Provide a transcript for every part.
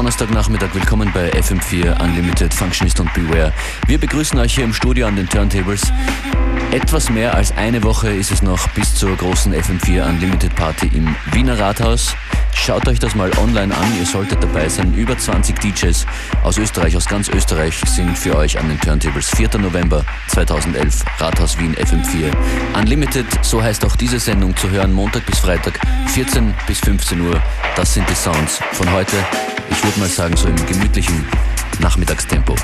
Donnerstagnachmittag, willkommen bei FM4 Unlimited, Functionist und Beware. Wir begrüßen euch hier im Studio an den Turntables. Etwas mehr als eine Woche ist es noch bis zur großen FM4 Unlimited Party im Wiener Rathaus. Schaut euch das mal online an, ihr solltet dabei sein. Über 20 DJs aus Österreich, aus ganz Österreich sind für euch an den Turntables. 4. November 2011, Rathaus Wien, FM4 Unlimited, so heißt auch diese Sendung, zu hören Montag bis Freitag, 14 bis 15 Uhr. Das sind die Sounds von heute. Ich würde mal sagen, so im gemütlichen Nachmittagstempo.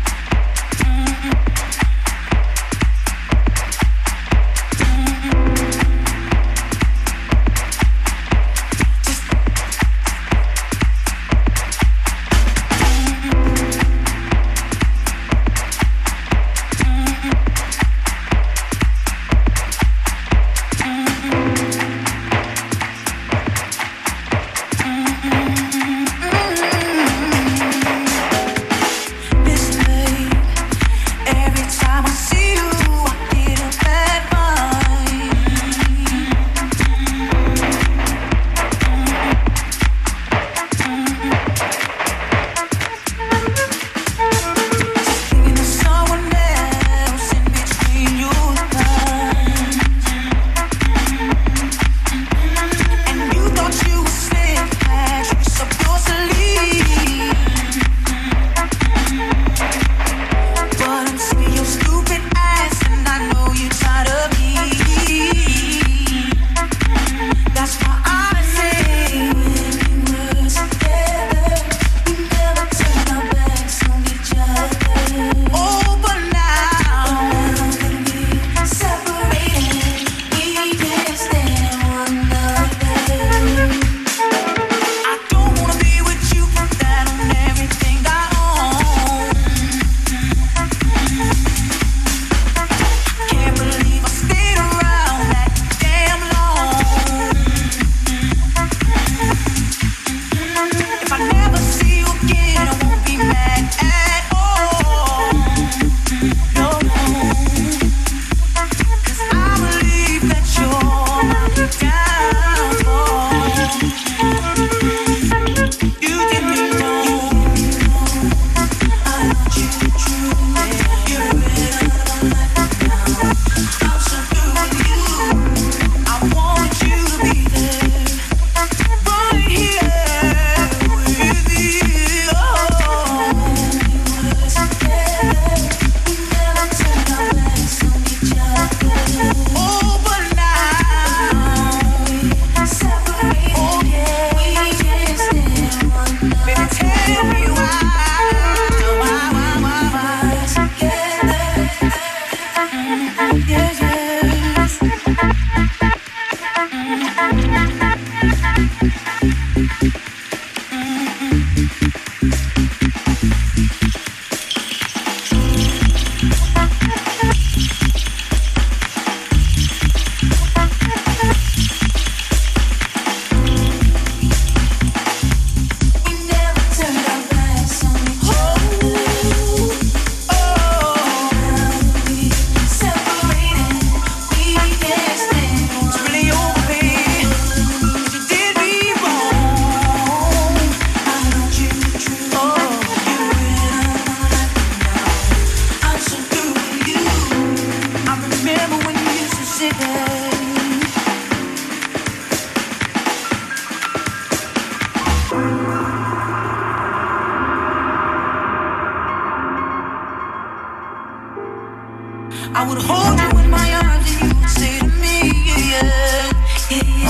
I would hold you in my arms and you would say to me, yeah, yeah,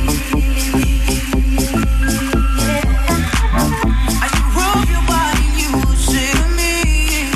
I should rub your body and you would say to me,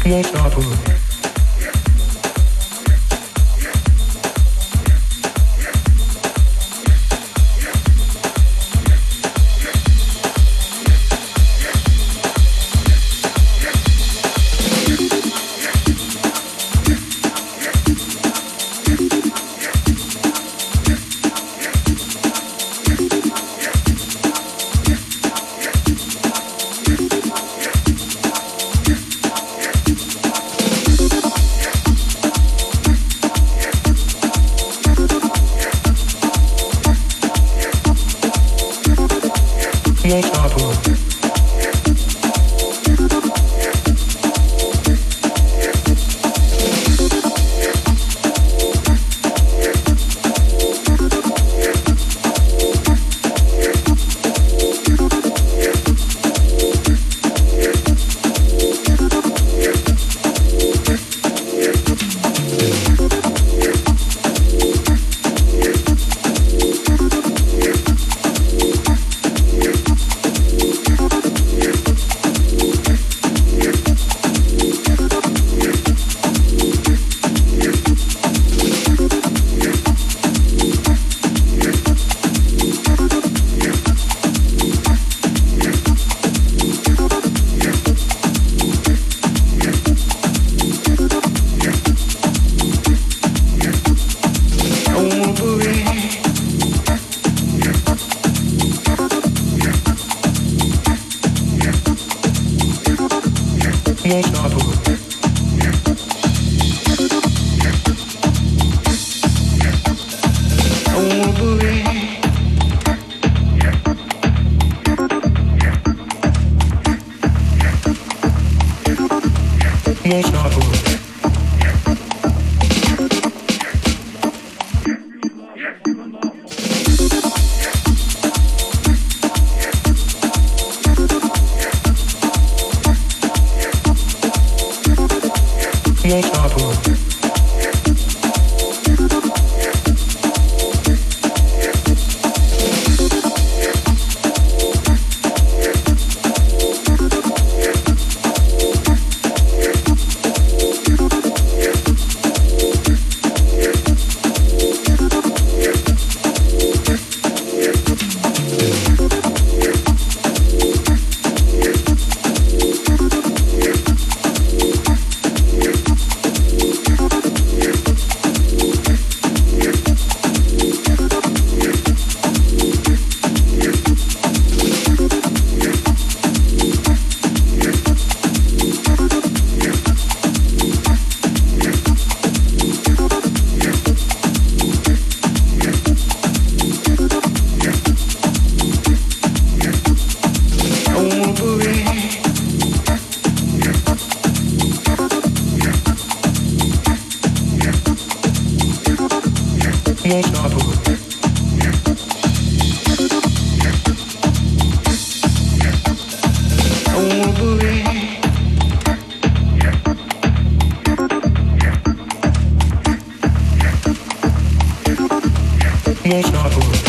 won't stop her. Won't stop her. Won't stop her. I wanna believe. Won't stop her. Won't stop her. Won't stop her. I wanna believe. Won't stop her.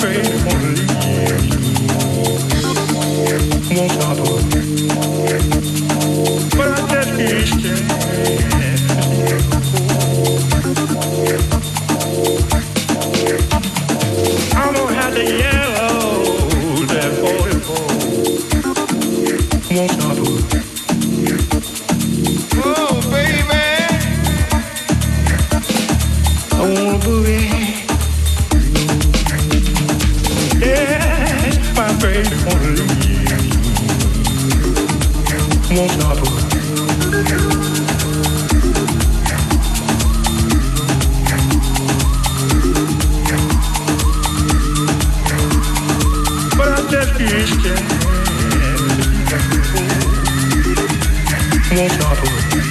afraid to wanna leave. Won't stop working, but I just can't stand. I'm gonna have to yellow that 44. Won't stop working. Oh, baby, I wanna boogie. Yeah, my baby wanna leave. Won't stop working. But I just can't stand. Won't stop working.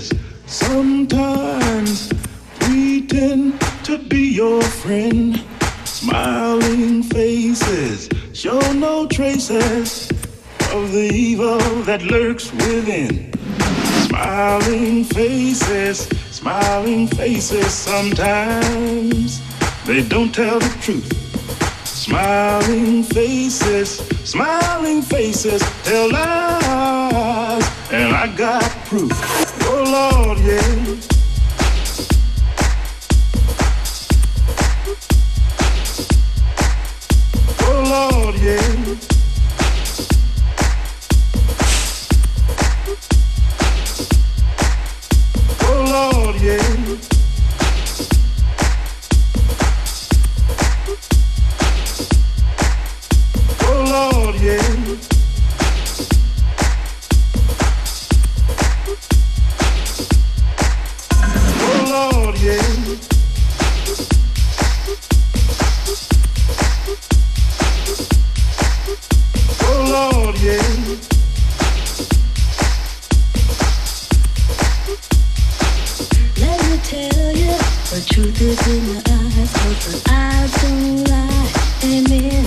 faces, sometimes pretend to be your friend. Smiling faces show no traces of the evil that lurks within. Smiling faces, sometimes they don't tell the truth. Smiling faces tell lies, and I got proof. Oh Lord, yeah. Oh Lord, yeah. Oh Lord, yeah. Oh Lord, yeah. Oh Lord, yeah. Oh Lord, yeah. Let me tell you, the truth is in your eyes, 'cause the eyes don't lie. Amen.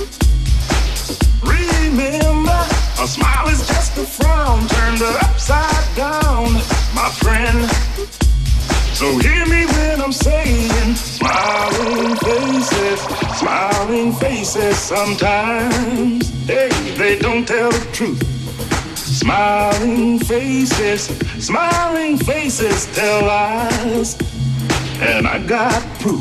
Remember, a smile is just a frown turned upside down, my friend. So hear me when I'm saying, smiling faces, sometimes, hey, they don't tell the truth. Smiling faces tell lies, and I got proof.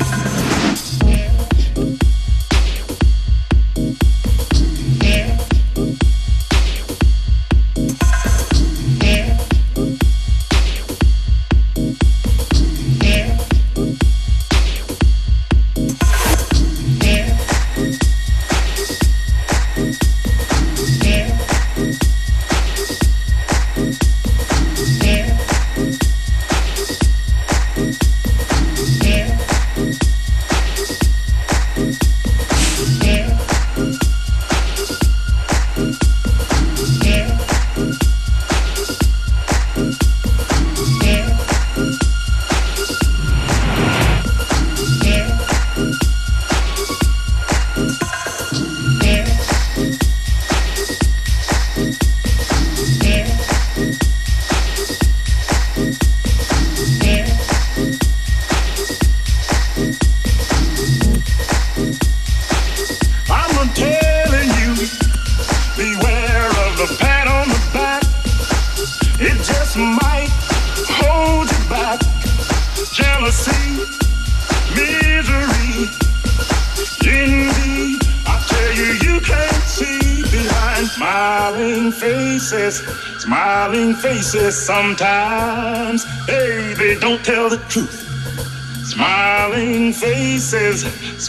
Smiling faces sometimes, hey, they don't tell the truth. Smiling faces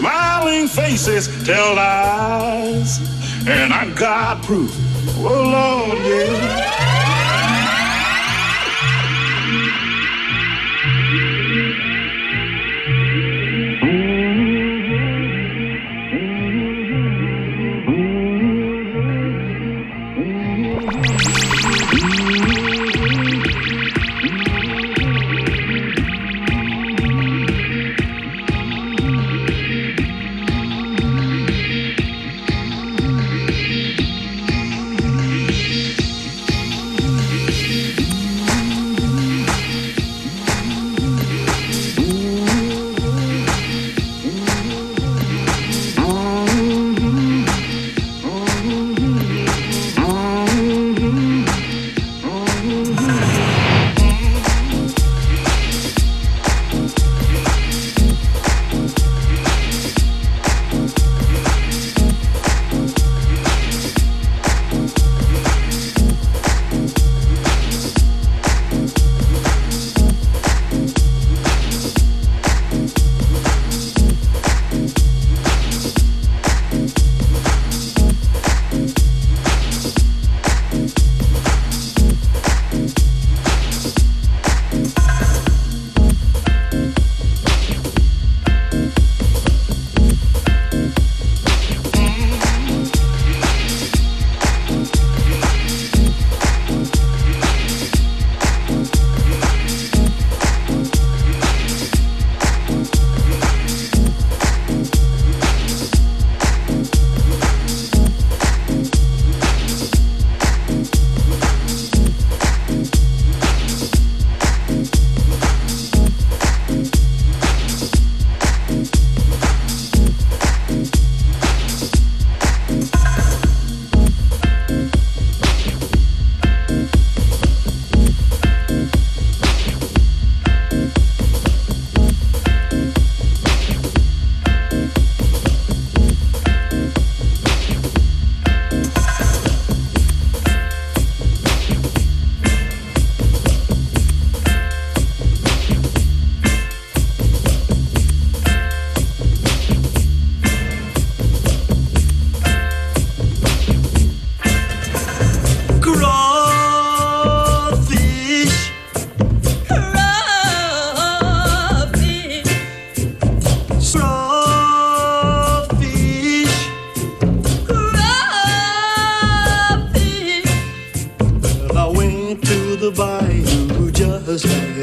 tell lies, and I got proof. Oh Lord, yeah.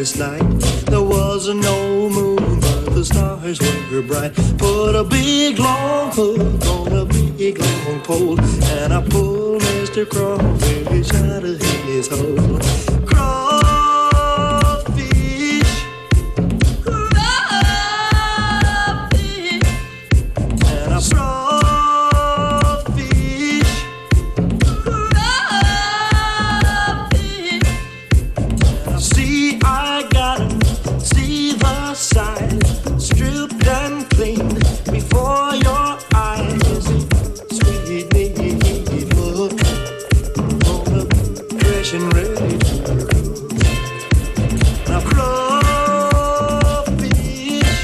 moonless night. There was no moon, but the stars were bright. Put a big long hook on a big long pole, and I pulled Mr. Crawfish out of his hole. Crawfish, crawfish, and I crawfish, crawfish. See, I got him, see the side, stripped and clean before your eyes. Sweet neat look on the fresh and ready to go. Now crawfish,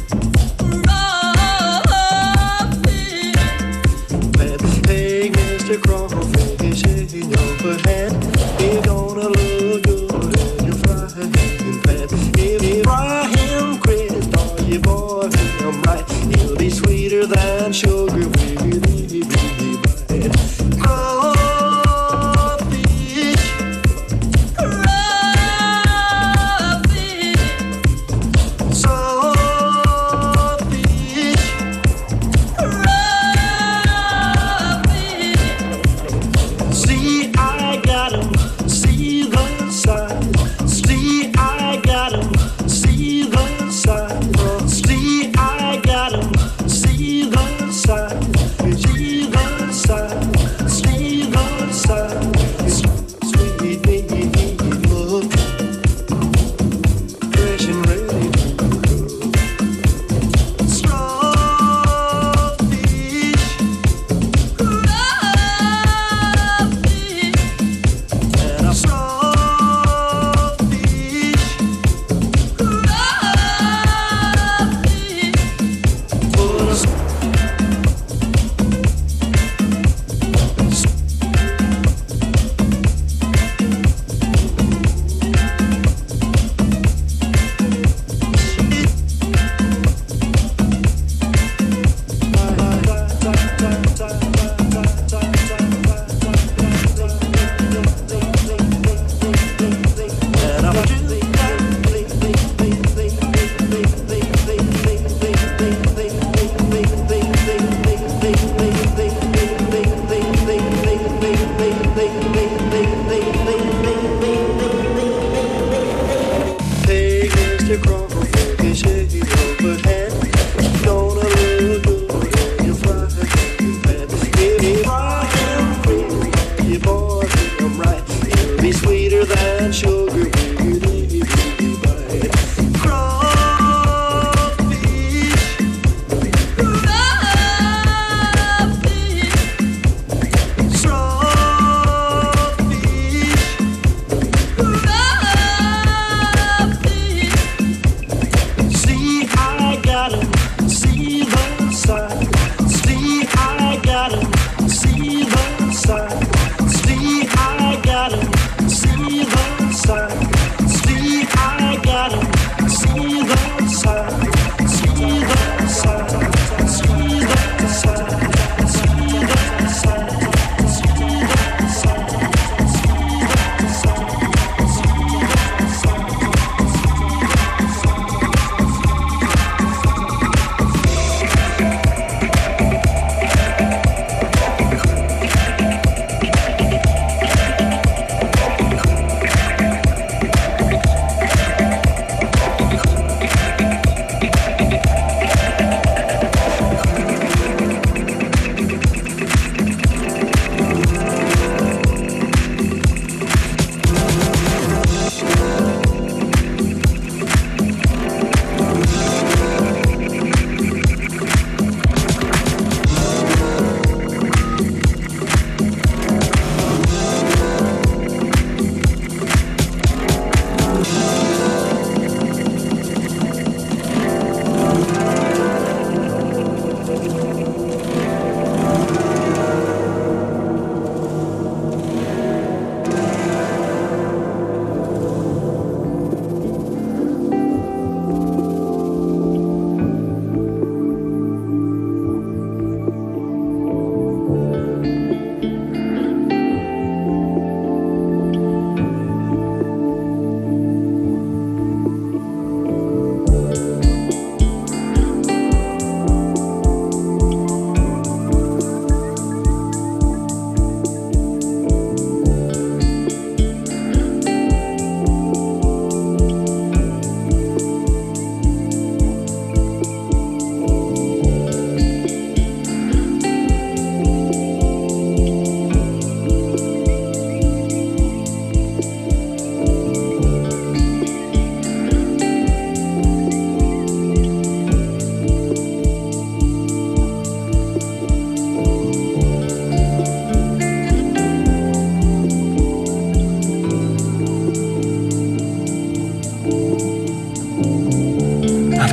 crawfish, hey Mr. Crawfish, in your hand, you're gonna look good in your frying pan. If you fry him crisp or you boil him right, he'll be sweeter than sugar with a bite. Crawfish, crawfish, saltfish, crawfish. See, I got him, see the side. See, I got him, see the side. See, I got him, see the side.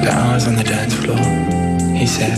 After hours on the dance floor, he said,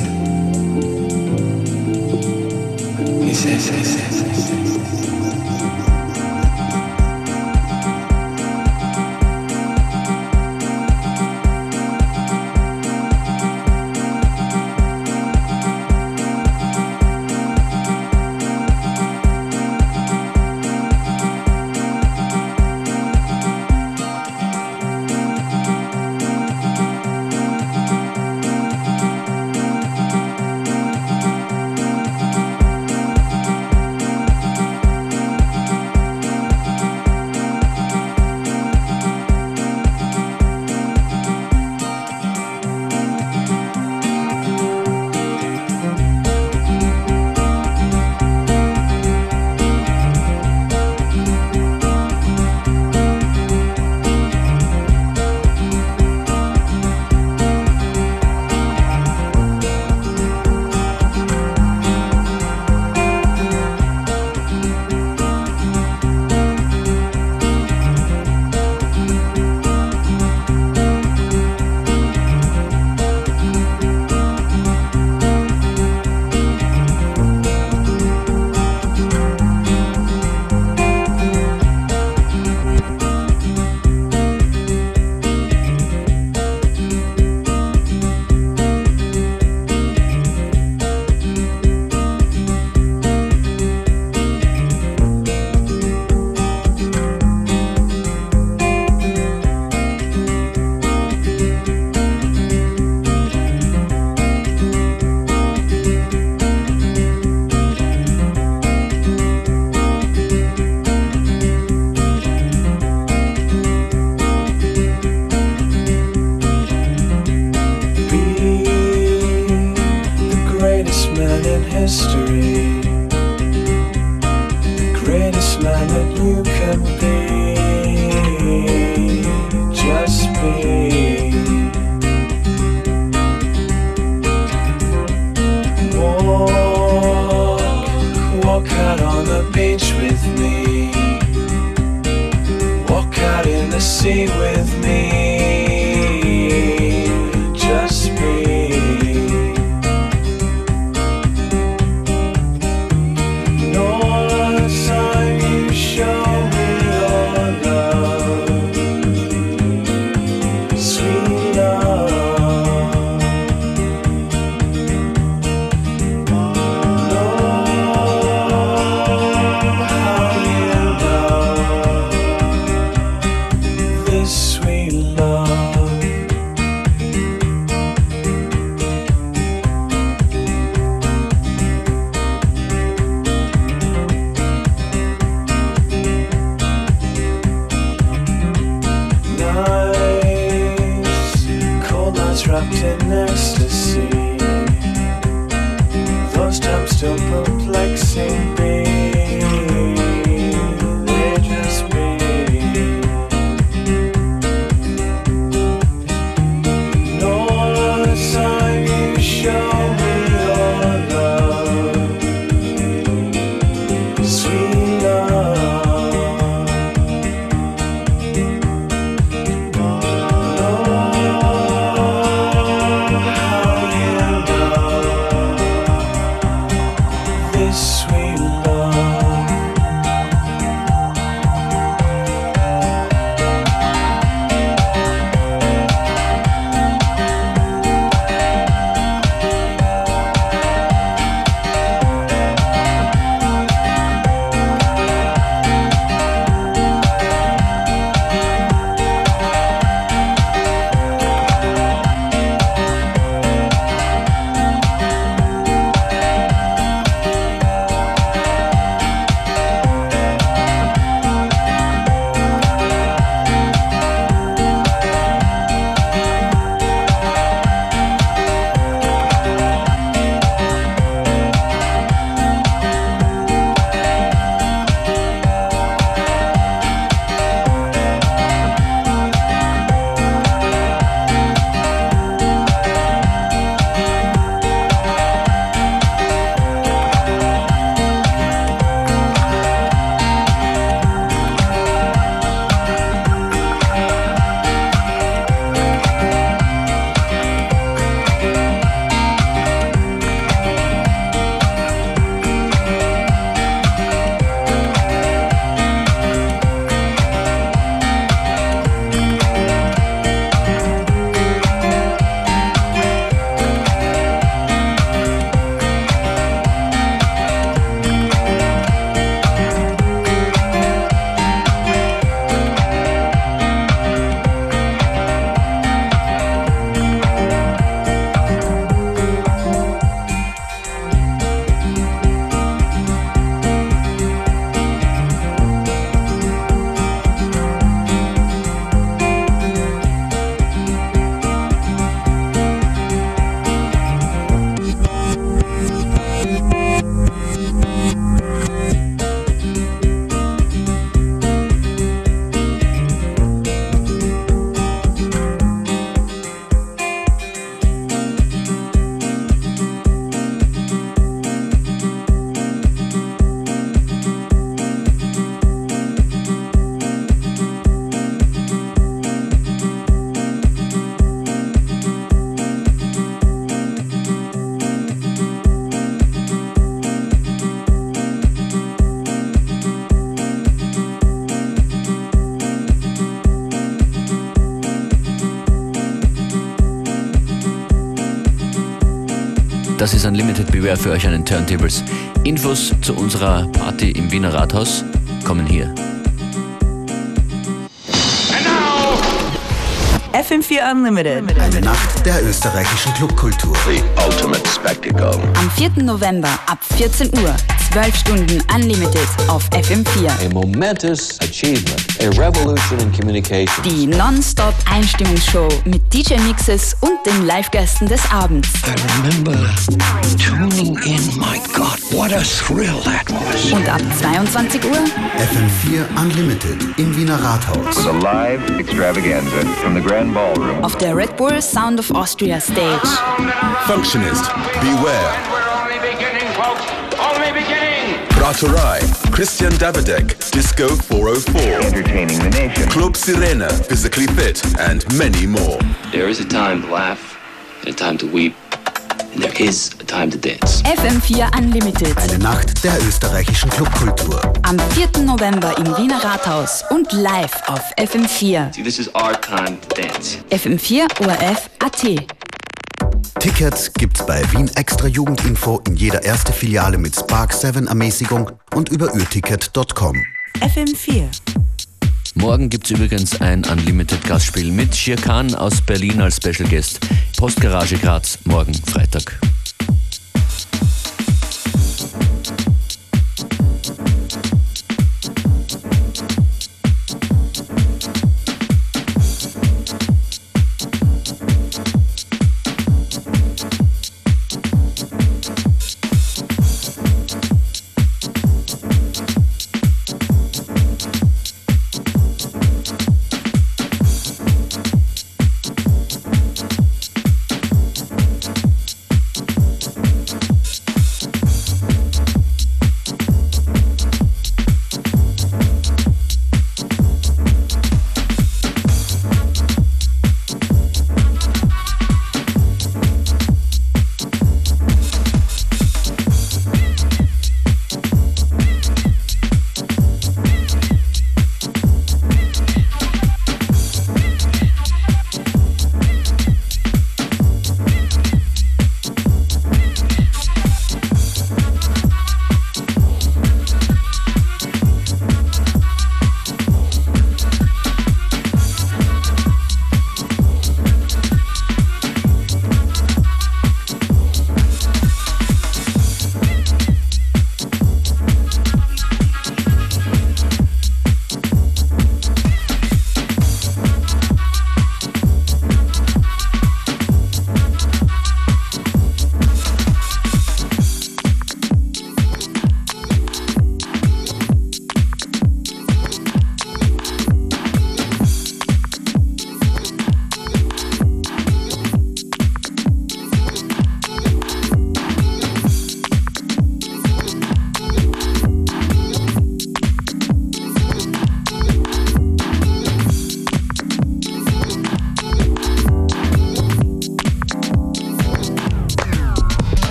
Das ist Unlimited Beware für euch an den Turntables. Infos zu unserer Party im Wiener Rathaus kommen hier. FM4 Unlimited. Eine Nacht der österreichischen Clubkultur. The ultimate spectacle. Am 4. November ab 14 Uhr. 12 Stunden Unlimited auf FM4. A momentous achievement. A revolution in communication. Die Non-Stop-Einstimmungsshow mit DJ-Mixes und den Live-Gästen des Abends. I remember tuning in. My God, what a thrill that was. Und ab 22 Uhr FM4 Unlimited im Wiener Rathaus. A live extravaganza from the Grand Ballroom. Auf der Red Bull Sound of Austria Stage. Functionist, Beware. We're only beginning, folks. Only beginning. Braturai, Christian Davidek, Disco 404. Entertaining the nation. Club Sirena, Physically Fit, and many more. There is a time to laugh and a time to weep. And there is a time to dance. FM4 Unlimited. Eine Nacht der österreichischen Clubkultur. Am 4. November im Wiener Rathaus und live auf FM4. See, this is our time to dance. FM4 ORF.at. Tickets gibt's bei Wien Extra Jugendinfo in jeder erste Filiale mit Spark 7 Ermäßigung und über urticket.com. FM4. Morgen gibt's übrigens ein Unlimited-Gastspiel mit Shir Khan aus Berlin als Special Guest. Postgarage Graz, morgen Freitag.